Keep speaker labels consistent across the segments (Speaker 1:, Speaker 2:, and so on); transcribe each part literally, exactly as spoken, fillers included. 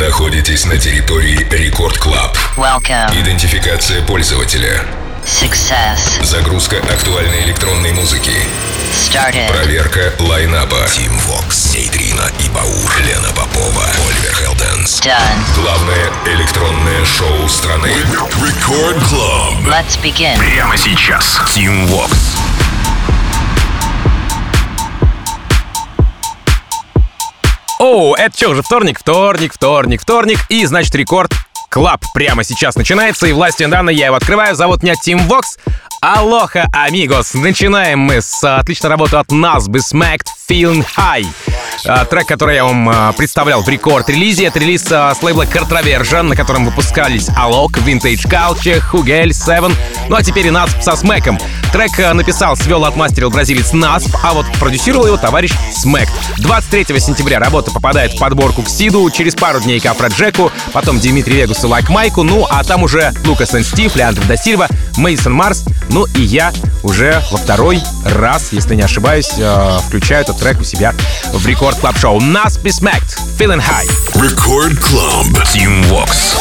Speaker 1: находитесь на территории Рекорд Клаб.
Speaker 2: Welcome.
Speaker 1: Идентификация пользователя.
Speaker 2: Success.
Speaker 1: Загрузка актуальной электронной музыки.
Speaker 2: Started.
Speaker 1: Проверка лайнапа. Тим Вокс, Нейтрина и Баур, Лена Попова, Оливер Хелденс.
Speaker 2: Done.
Speaker 1: Главное электронное шоу страны. Рекорд Клаб.
Speaker 2: Let's begin.
Speaker 1: Прямо сейчас. Тим Вокс.
Speaker 3: Оу, это что, уже вторник? Вторник, вторник, вторник. И, значит, Рекорд Клаб прямо сейчас начинается. И властью данной я его открываю. Зовут меня Тим Вокс. Алоха, амигос. Начинаем мы с отличной работы от нас. Be Smacked, Feeling High. А, трек, который я вам а, представлял в рекорд-релизе. Это релиз а, с лейбла Cartraversion, на котором выпускались Alok, Vintage Culture, Hugel, Seven. Ну а теперь и Насп со Смэком. Трек а, написал, свел, отмастерил бразилец Насп, а вот продюсировал его товарищ Смэк. двадцать третьего сентября работа попадает в подборку к Сиду, через пару дней к Афроджеку, потом Димитри Вегасу, Лайк Майку, ну а там уже Лукас энд Стив, Леандро да Сильва, Мейсон Марс, ну и я уже во второй раз, если не ошибаюсь, э, включаю этот трек у себя в Рекорд Клаб Шоу. Нас Be Smacked, Feeling High.
Speaker 1: Рекорд Клаб. Тим Вокс.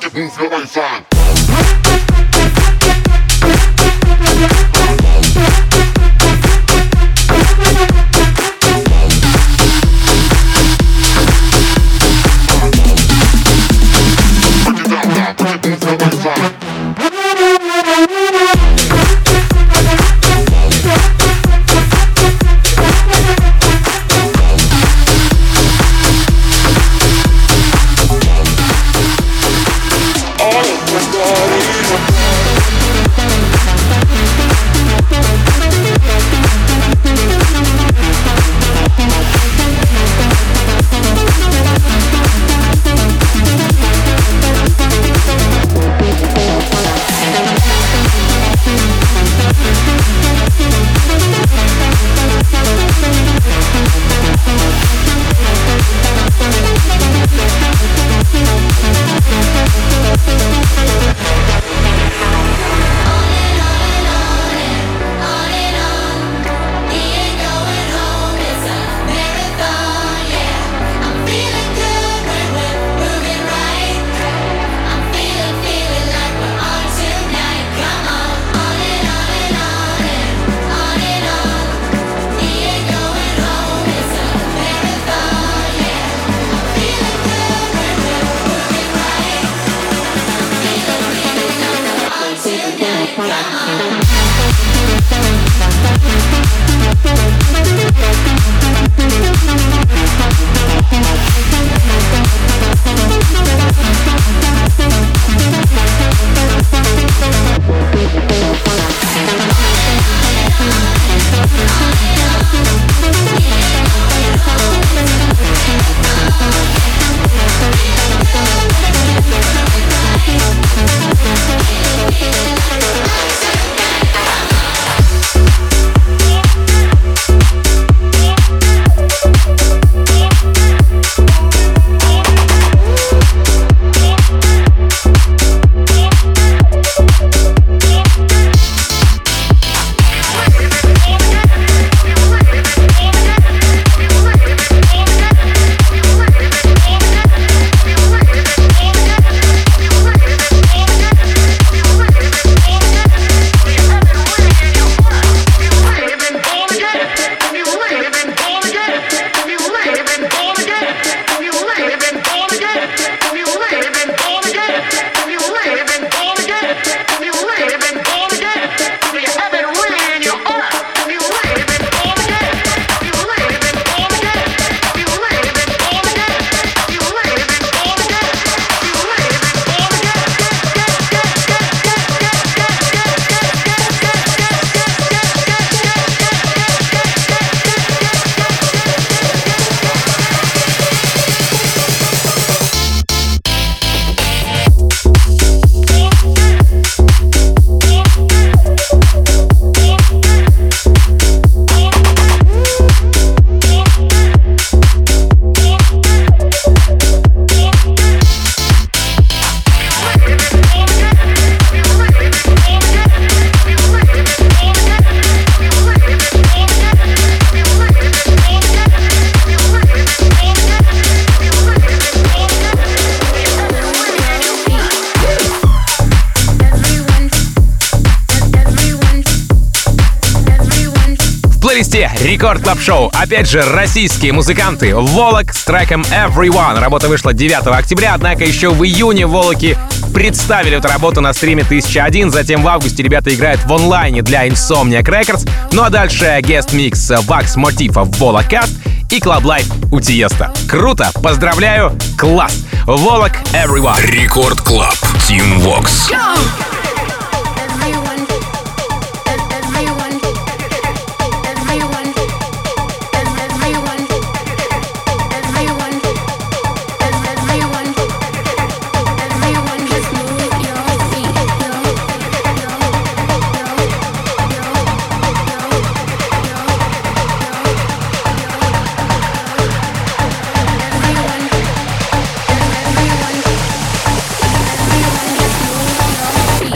Speaker 4: move your waistline.
Speaker 3: Рекорд Клаб Шоу. Опять же, российские музыканты. Волок с треком Everyone. Работа вышла девятого октября, однако еще в июне Волоки представили эту работу на стриме тысяча один. Затем в августе ребята играют в онлайне для Insomniac Records. Ну а дальше гест-микс Вакс Мотива в Волокаст и Club Life у Тиеста. Круто! Поздравляю! Класс! Волок Everyone.
Speaker 1: Рекорд Клаб. Team Vox.
Speaker 4: Feet.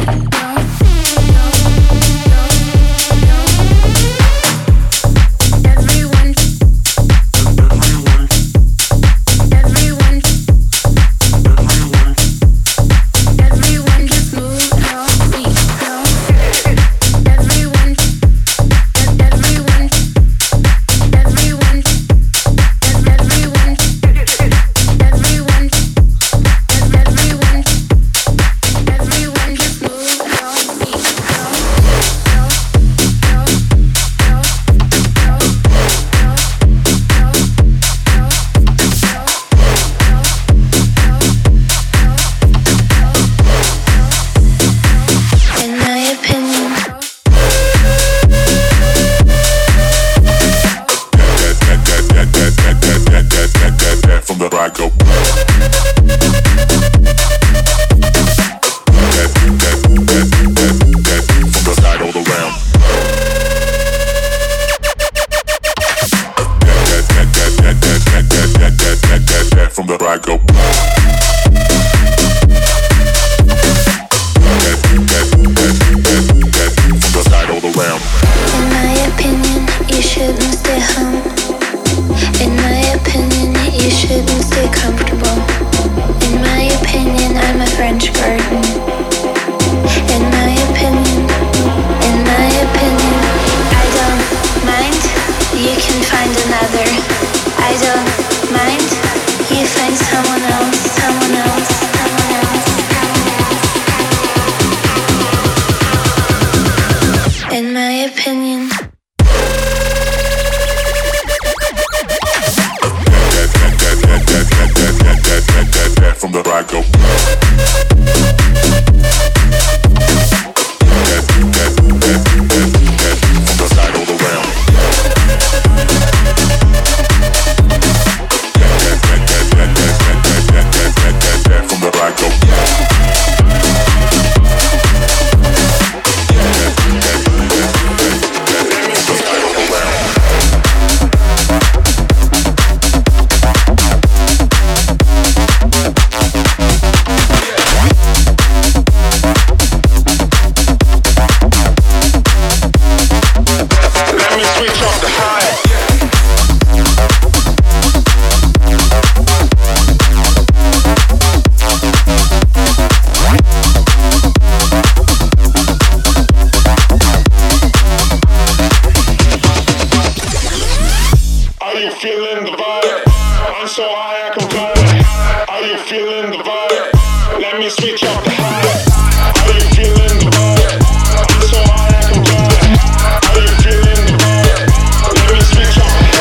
Speaker 4: French garden. In my opinion, in my opinion, I don't mind, you can find another. I don't mind, you find someone else, someone else, someone else, someone else. In my opinion.
Speaker 5: From the right go. From the side all around. From the right go.
Speaker 6: Feeling the vibe, I'm so high I can fly. Are you feeling the vibe? Let me switch up the high. Are you feeling the vibe? I'm so high I can fly. Are you feeling the vibe? Let me switch up the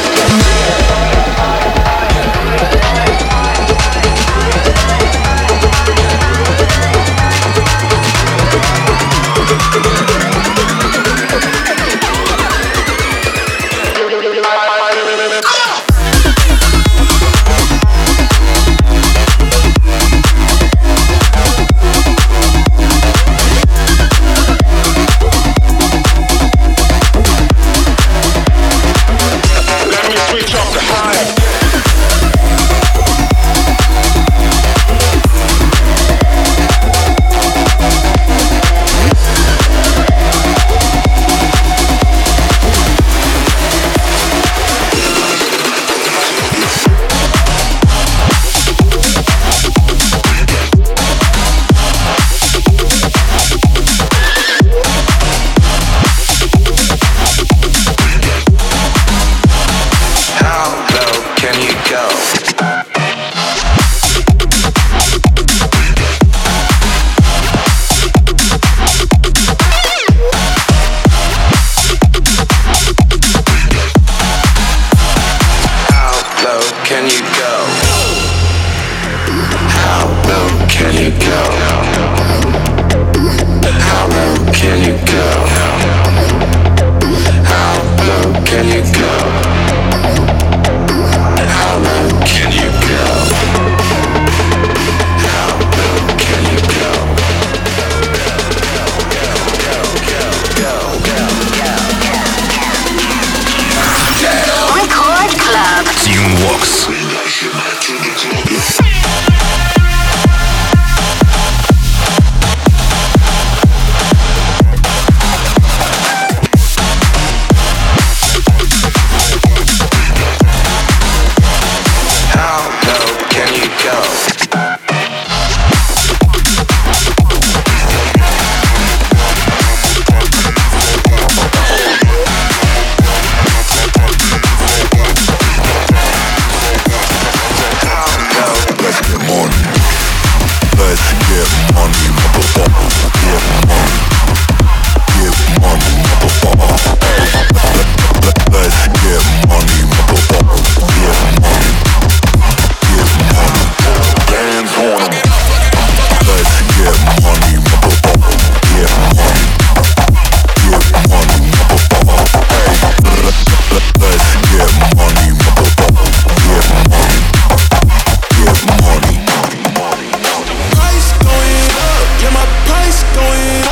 Speaker 7: Going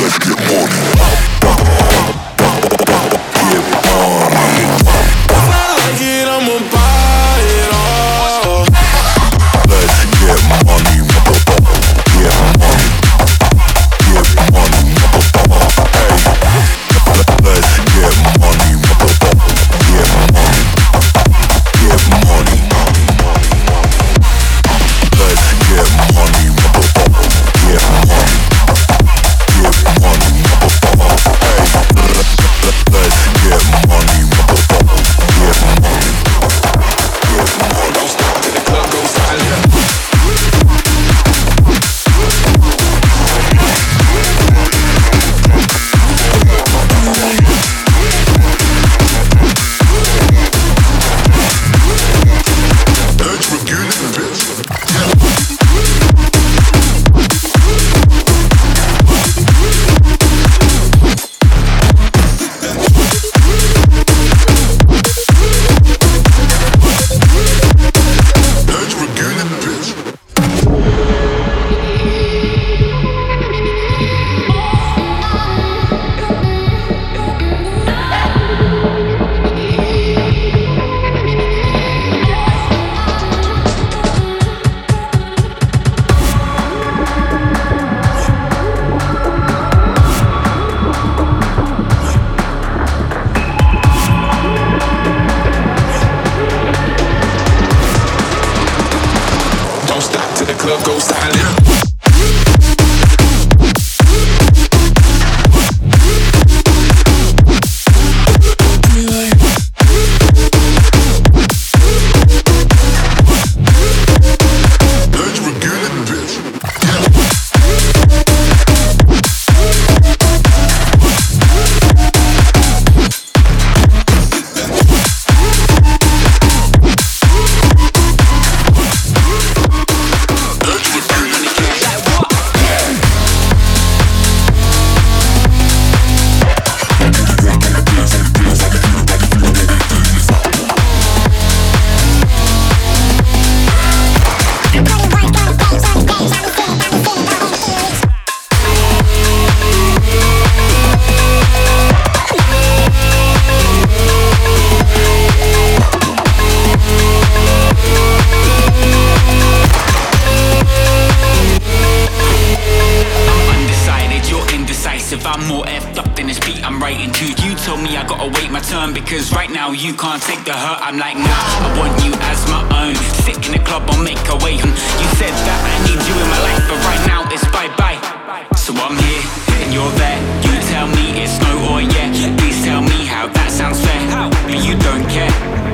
Speaker 7: Cause right now you can't take the hurt. I'm like, nah, I want you as my own. Sick in the club, I'll make a way. You said that I need you in my life, but right now it's bye-bye. So I'm here, and you're there. You tell me it's no or yeah. Please tell me how that sounds fair. But you don't care.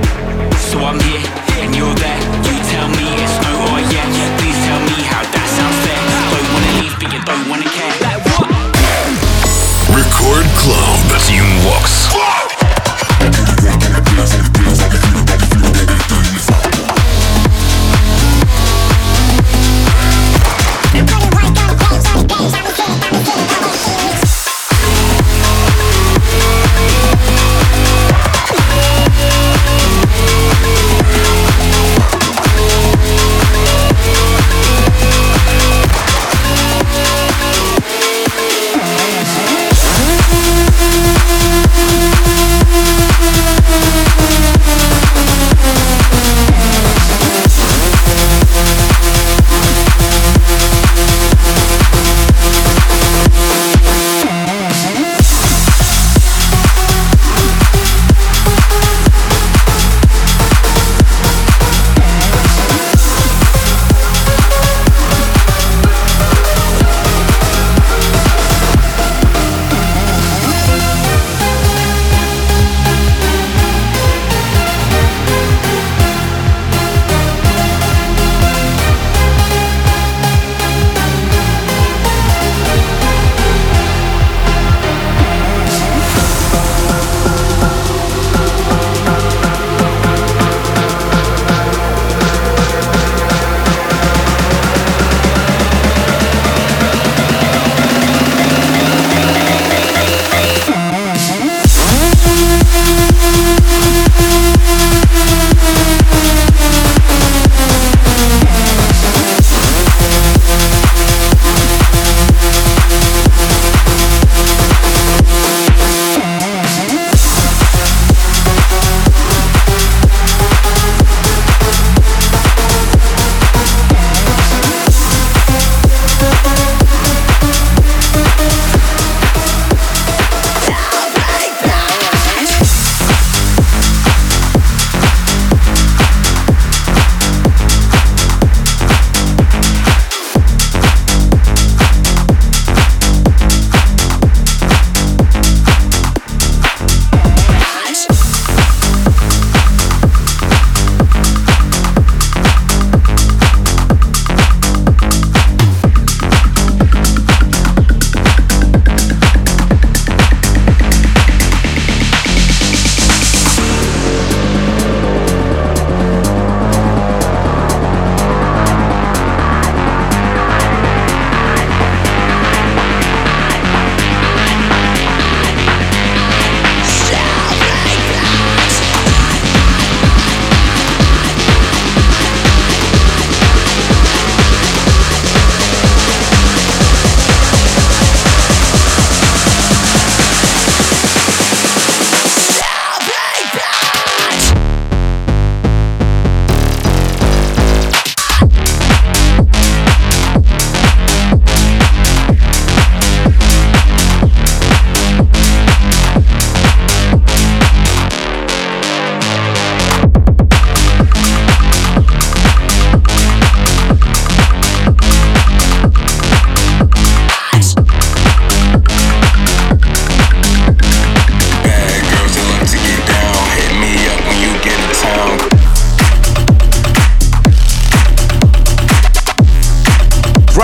Speaker 7: So I'm here, and you're there. You tell me it's no or yeah. Please tell me how that sounds fair. Don't wanna leave, but you don't wanna care. Like what?
Speaker 1: Record Club Team Vox.
Speaker 8: We'll be right back.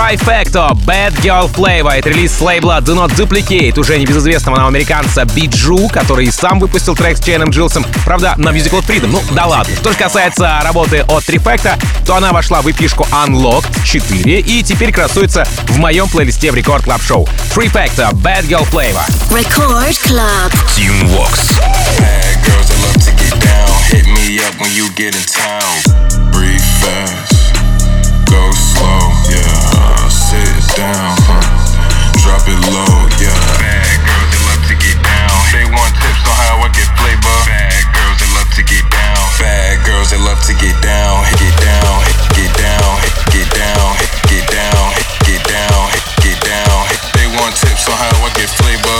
Speaker 3: Trifecto, Bad Girl Flavor. Это релиз с лейбла Do Not Duplicate, уже небезызвестного нам американца Биджу, который и сам выпустил трек с Чейном Джилсом, правда, на Music World Freedom. Ну, да ладно. Что же касается работы от Trifecto, то она вошла в эпишку Unlocked четыре и теперь красуется в моем плейлисте в Рекорд Клаб Шоу. Trifecto, Bad Girl Flavor.
Speaker 8: Record Club.
Speaker 1: Team Vox.
Speaker 9: Bad girls that love to get down. Hit me up when you get in town. Breathe fast, go slow, yeah. Uh, sit down, huh? Drop it low, yeah. Bad girls that love to get down. They want tips on how I get flavor. Bad girls that love to get down. Bad girls that love to get down. Get down, get down, get down, get down, get down, get down. They want tips on how I get flavor.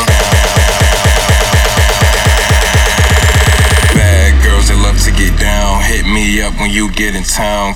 Speaker 9: Bad girls that love to get down. Hit me up when you get in town.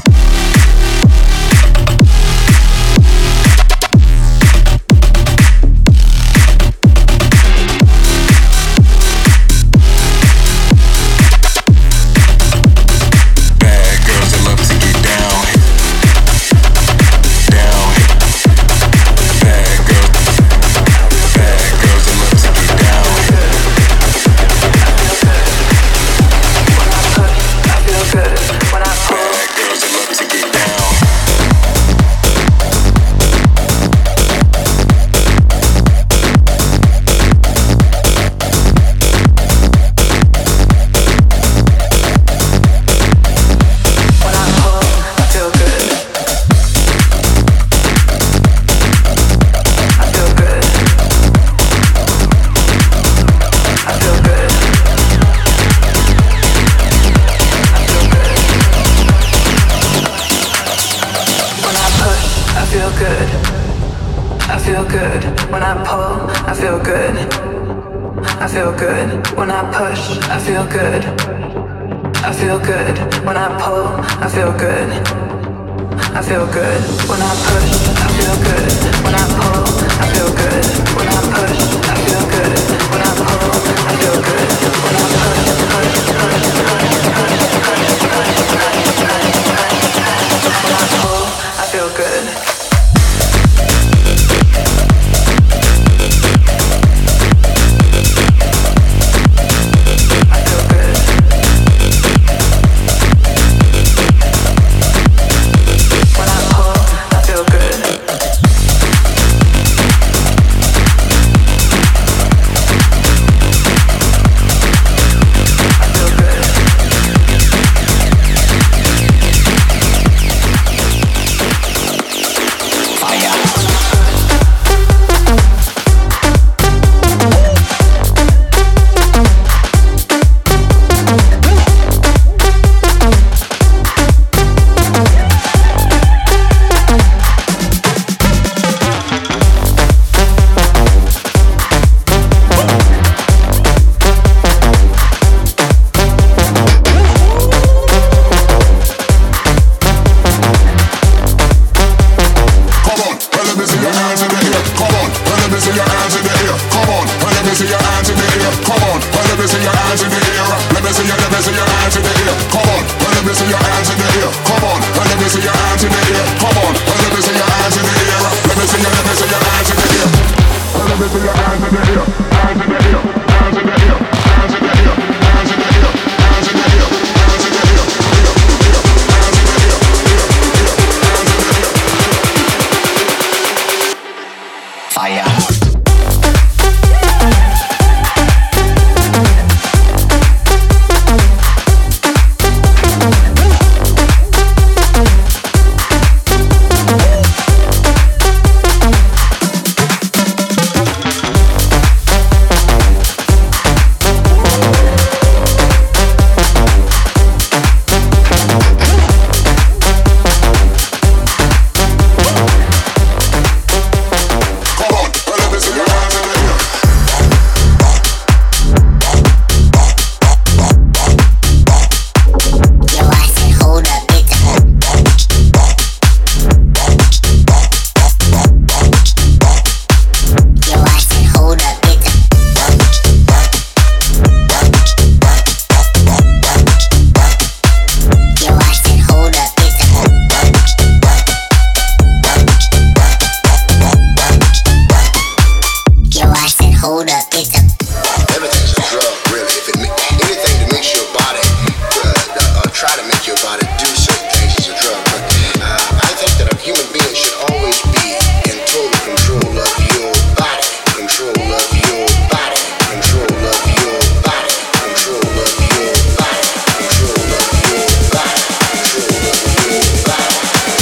Speaker 10: hold up, it's a. Everything's a drug, really. If it anything to make your body, uh, uh, try to make your body do certain things is a drug. But uh, I think that a human being should always be in total control of your body, control of your body, control of your body, control of your body, control of your body, control of your body.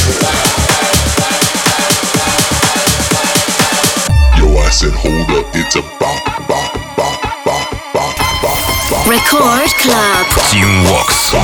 Speaker 5: Yo, I said hold up, it's a bop, bop, bop, bop, bop, bop, bop.
Speaker 8: Record Club.
Speaker 1: Team Vox.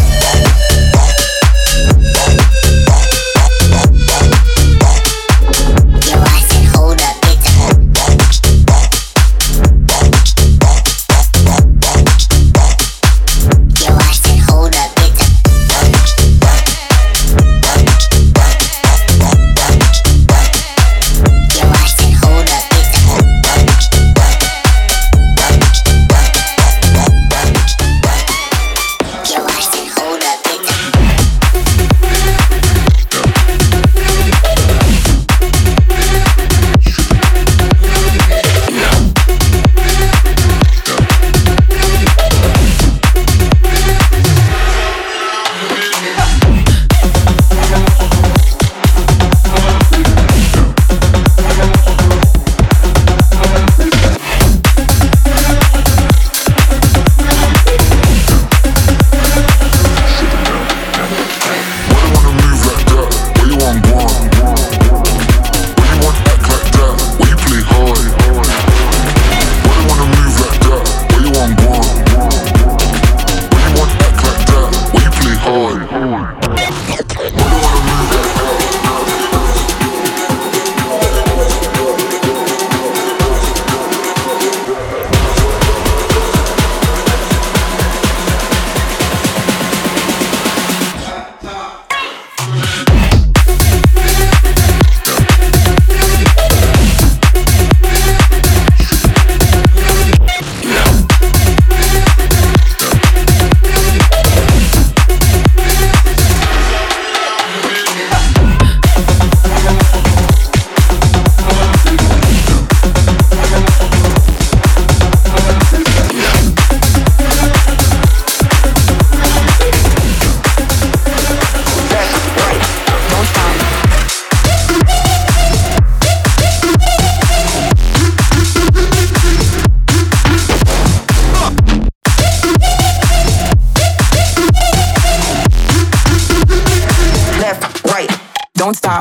Speaker 11: Don't stop.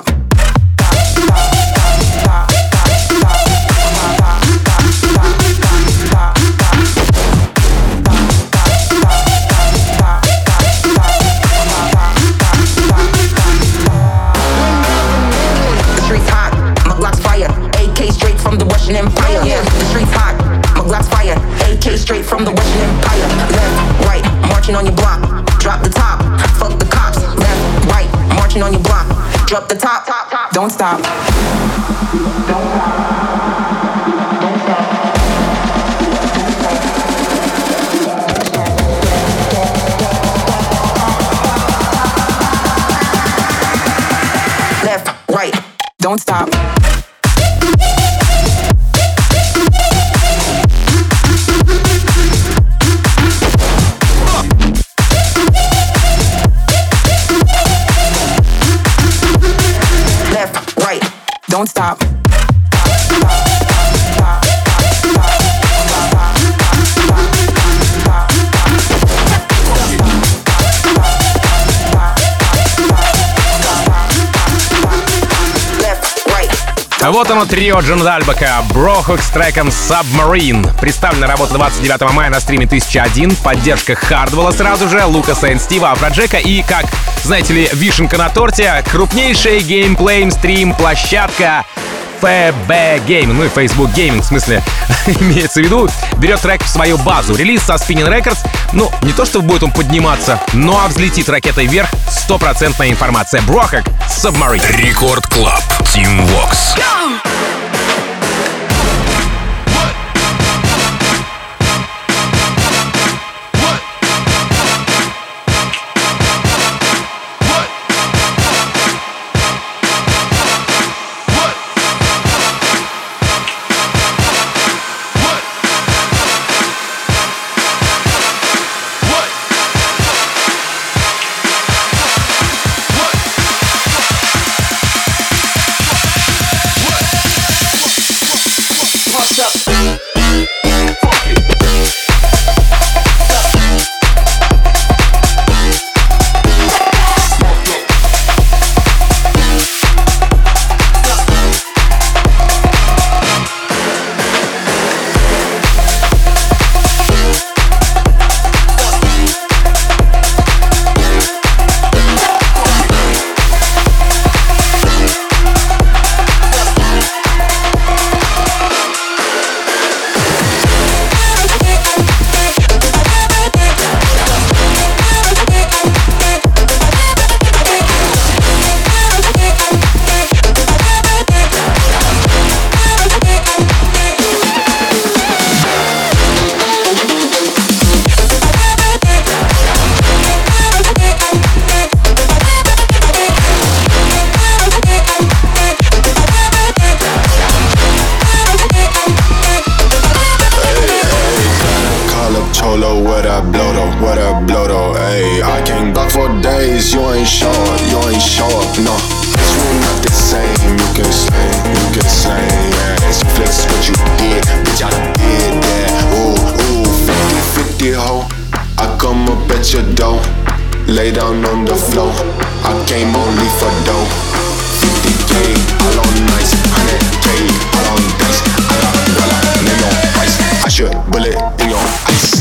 Speaker 11: Empire. Yeah, the streets hot. My Glock's fire. A K straight from the Russian Empire. Left, right, marching on your block. Drop the top. Fuck the cops. Left, right, marching on your block. Drop the top. top, top. Don't stop. Don't stop. Don't stop. Left, right, don't stop. Don't stop.
Speaker 3: Вот оно, трио Джандальбака, Брохок с треком Submarine. Представлена работа двадцать девятого мая на стриме тысяча один. Поддержка Хардвелла сразу же, Лукаса и Стива, Афроджека и, как, знаете ли, вишенка на торте, крупнейшая геймплей-стрим-площадка эф би Gaming, ну и Facebook Gaming, в смысле, имеется в виду, берет трек в свою базу. Релиз со Spinning Records, ну, не то что будет он подниматься, но а взлетит ракетой вверх, стопроцентная информация. Брохок, Submarine.
Speaker 1: Рекорд Клаб, Team Vox.
Speaker 12: days you ain't show up, you ain't show up, no. It's really not the same, you can say, you can say, yeah. It's flex what you did, bitch, I did that. Ooh, ooh, fifty fifty ho, I come up at your door, lay down on the floor, I came only for dough. Fifty K, all on nice, one hundred K, all on dice, I got dollar, name on price, I should bullet in your ice.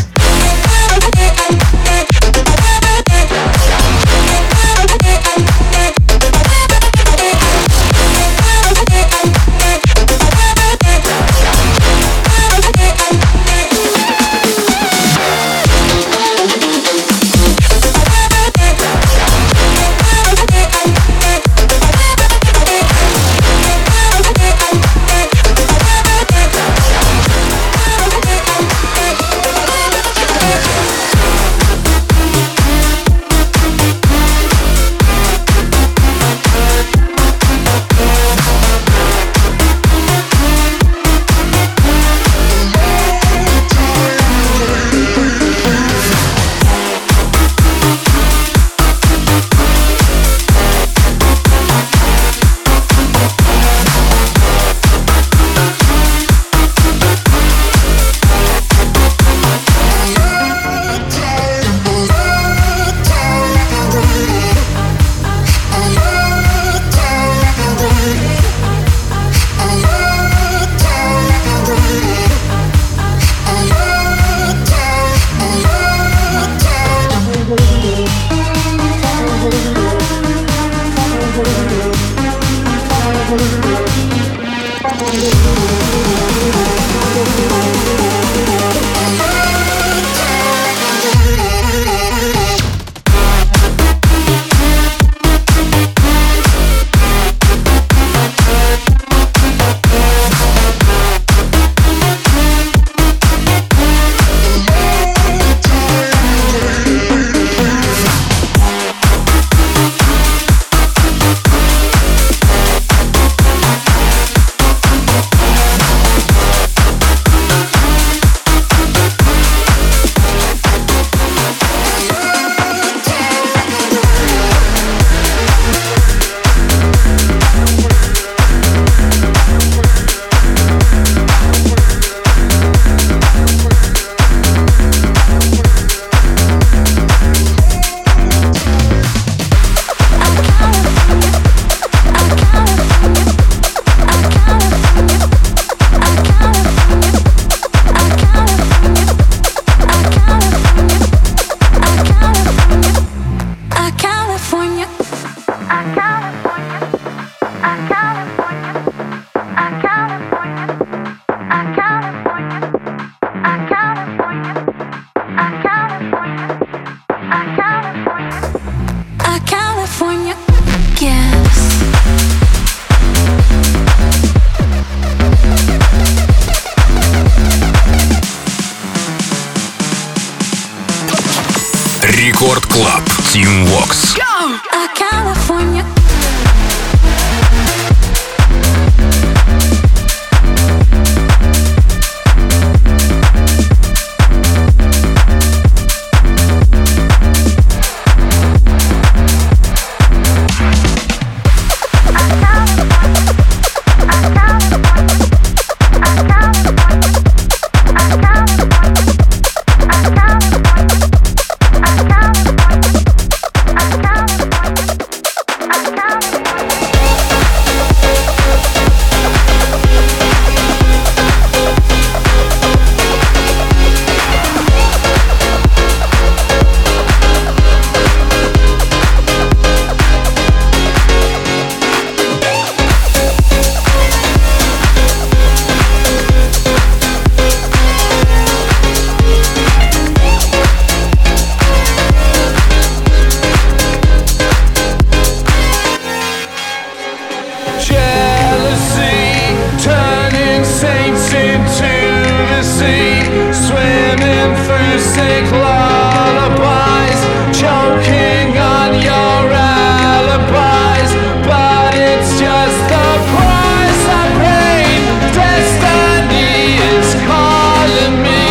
Speaker 1: Рекорд Клаб. Team Vox.
Speaker 4: California.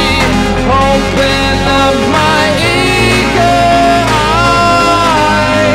Speaker 13: Open up my ego eyes.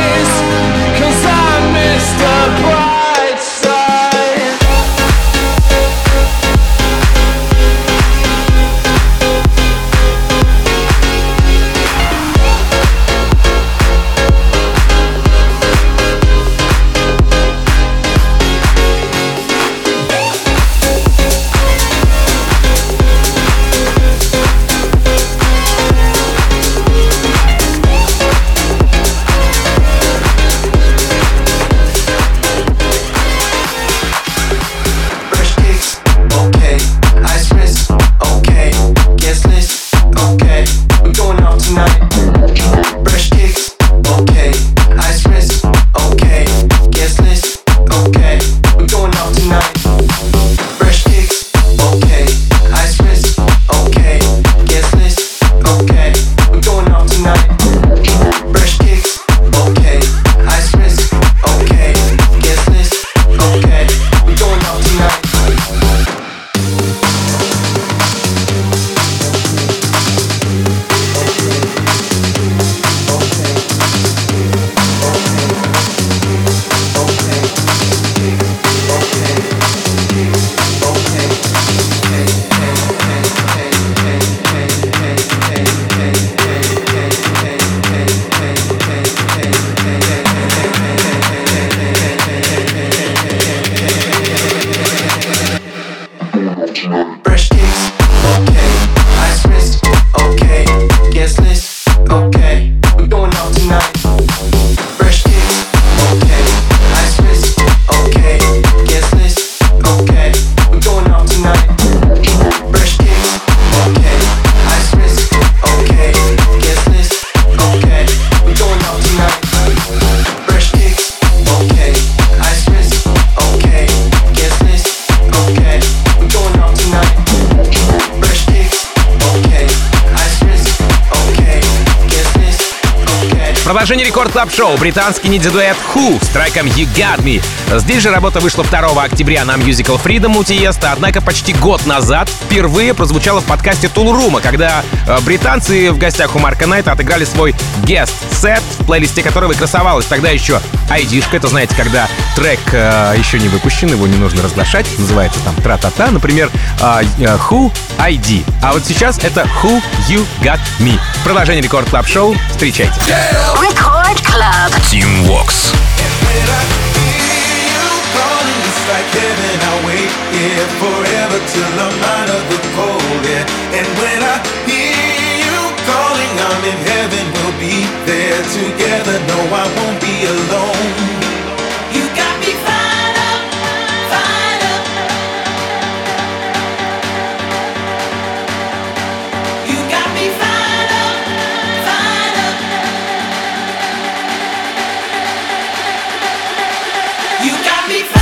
Speaker 3: Продолжение Рекорд Клаб Шоу. Британский ниндзя-дуэт Who с треком You Got Me. Здесь же работа вышла второго октября на Musical Freedom у Тиеста, однако почти год назад впервые прозвучала в подкасте Tool Room, когда британцы в гостях у Марка Найта отыграли свой guest-сет, в плейлисте которого и красовалась тогда еще ай ди-шка. Это, знаете, когда трек э, еще не выпущен, его не нужно разглашать. Называется там тра-та-та, например, э, Who ай ди. А вот сейчас это Who You Got Me. Продолжение Рекорд Клаб Шоу. Встречайте.
Speaker 8: Record Club.
Speaker 1: Team Vox.
Speaker 13: Like heaven, I wait here forever till I'm out of the cold, yeah. And when I hear you calling, I'm in heaven, we'll be there together. No, I won't be alone. You got me fired up, fired up. You got me fired up, fired up. You got me fired up.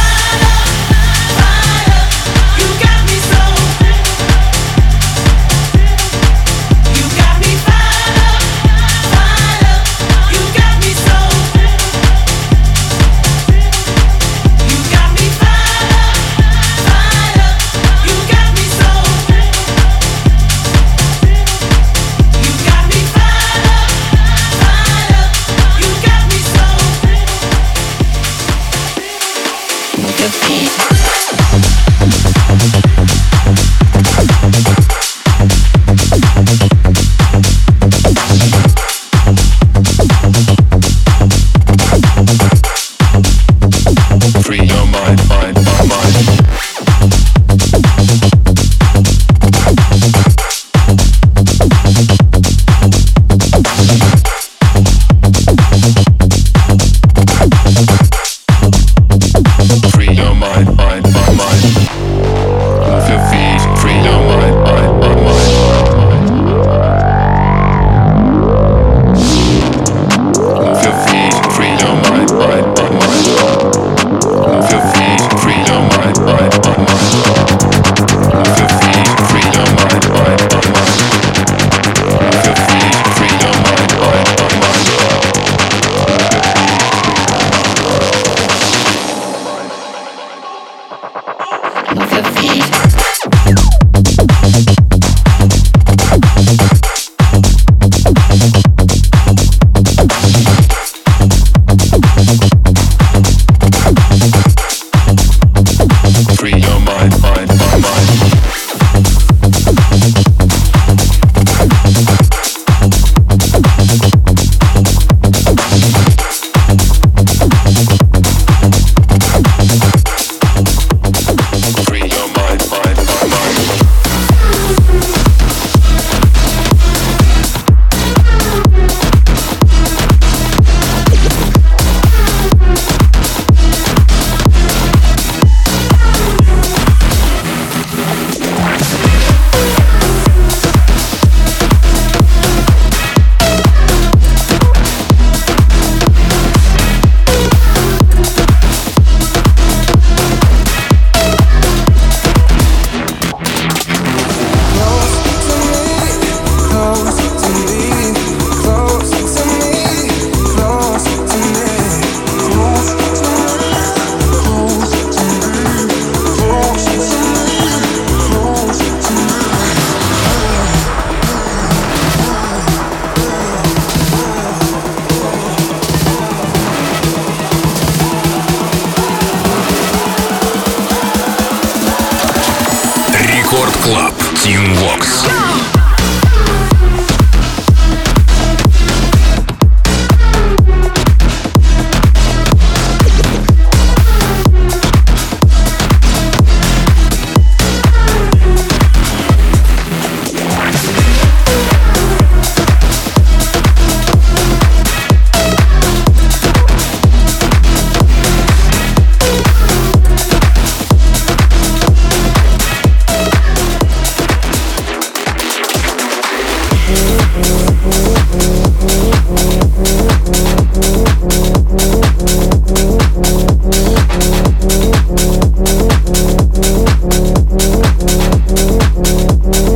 Speaker 1: Club Team Vox.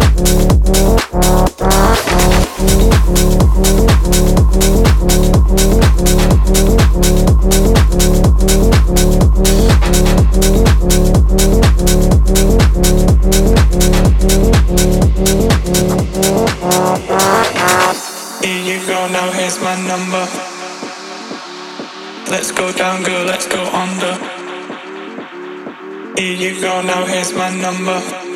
Speaker 14: We'll be right back. now here's my number. Let's go down, girl, let's go under. Here you go, now here's my number.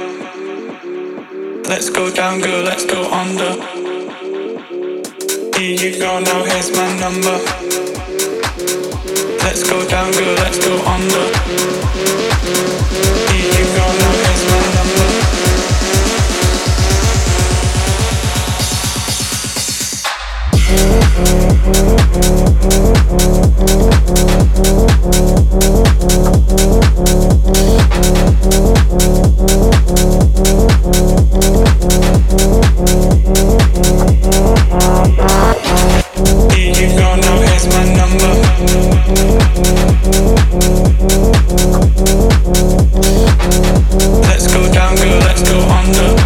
Speaker 14: Let's go down, girl, let's go under. Here you go, now here's my number. Let's go down, girl, let's go under. Here you go, now here's my number. Here you go, now here's my number. Let's go down, girl, let's go under.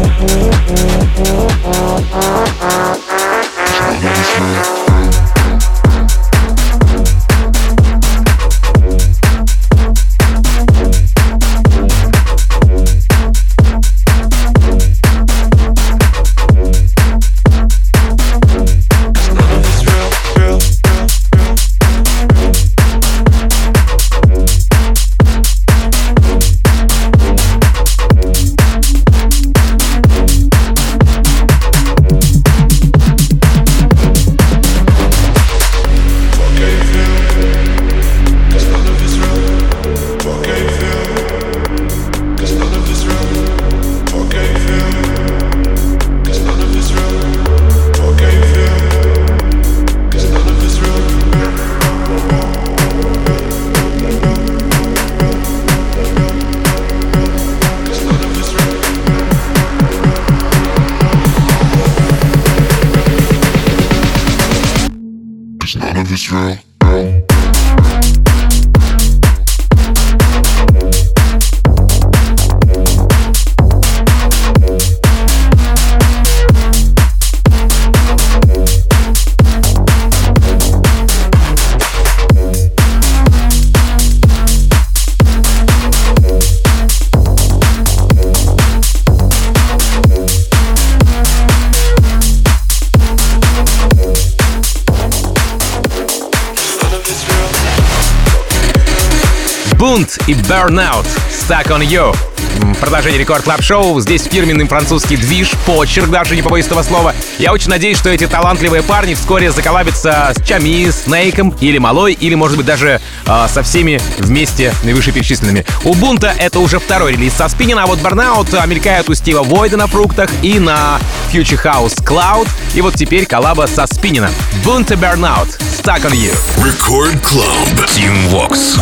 Speaker 3: Bunt и Burnout, Stuck on You. Продолжение Рекорд Клаб Шоу. Здесь фирменный французский движ, почерк, даже не побоюсь этого слова. Я очень надеюсь, что эти талантливые парни вскоре заколлабятся с Чами, Снейком или Малой, или, может быть, даже э, со всеми вместе вышеперечисленными. У Бунта это уже второй релиз со Спиннина, а вот Burnout мелькает у Стива Войда на фруктах и на Future House Cloud. И вот теперь коллаба со Спиннина. Bunt и Burnout, Stuck on You.
Speaker 1: Record Club, Team Vox.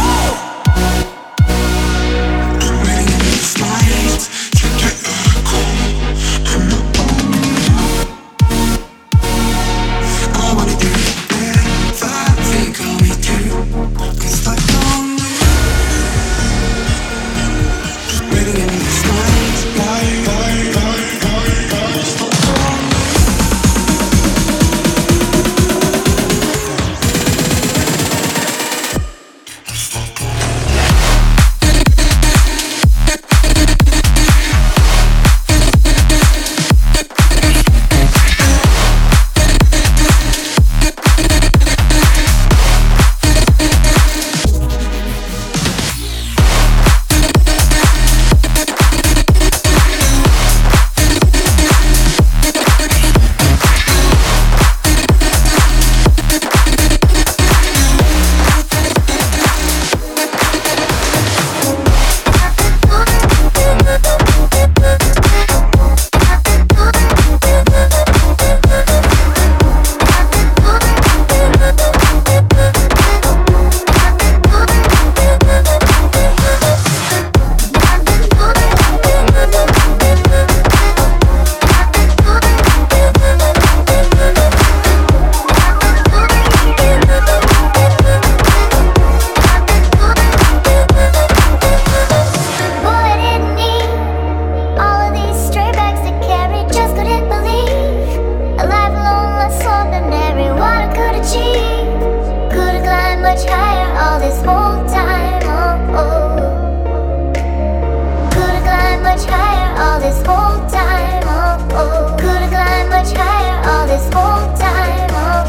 Speaker 4: this whole time, oh, oh. Could've climbed much higher all this whole time, oh.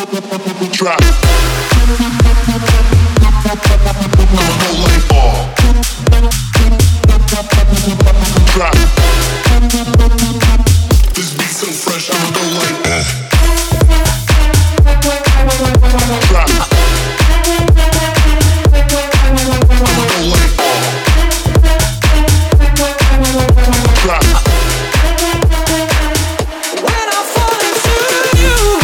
Speaker 5: Drop. Go like ball. Drop. This beat so fresh, I'ma go like that. Drop. I'ma go like ball. Drop.
Speaker 15: When I fall into you.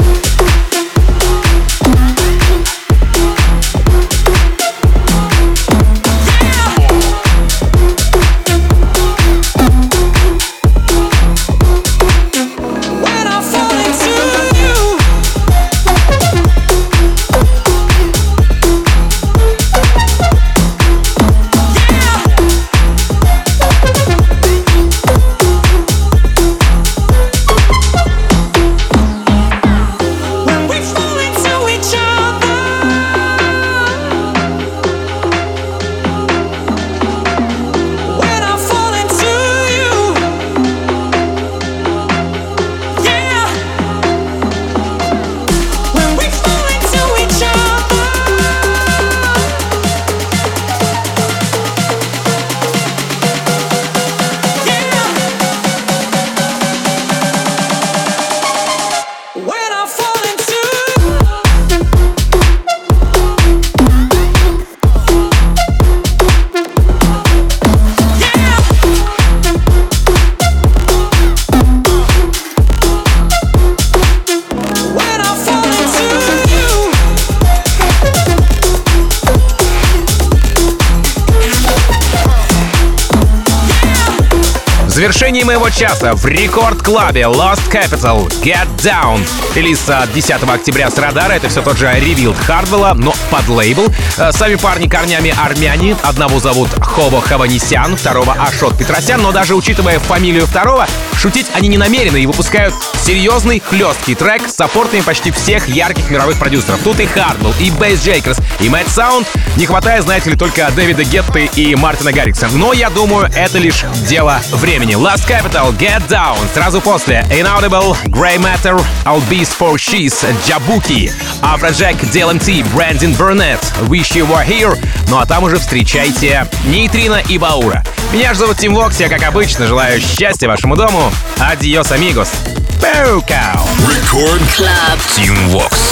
Speaker 3: В завершении моего часа в рекорд-клабе Lost Capital Get Down. Релиз десятого октября с радара. Это все тот же Revealed Хардвелла, но под лейбл. Сами парни корнями армяне. Одного зовут Хобо Хованесян, второго Ашот Петросян. Но даже учитывая фамилию второго, шутить они не намерены и выпускают серьезный, хлесткий трек с саппортами почти всех ярких мировых продюсеров. Тут и Хардвелл, и Бейс Джейкерс, и Мэтт Саунд. Не хватает, знаете ли, только Дэвида Гетты и Мартина Гаррикса. Но я думаю, это лишь дело времени. Lost Capital, Get Down. Сразу после Inaudible, Grey Matter, Albis for She's, Jabuki, Afrojack, ди эл эм ти, Brandon Burnett, Wish You Were Here. Ну а там уже встречайте Нейтрино и Баура. Меня же зовут Тим Вокс, я, как обычно, желаю счастья вашему дому. Адьос, амигос. Пэукау.
Speaker 1: Record Club. Team Vox.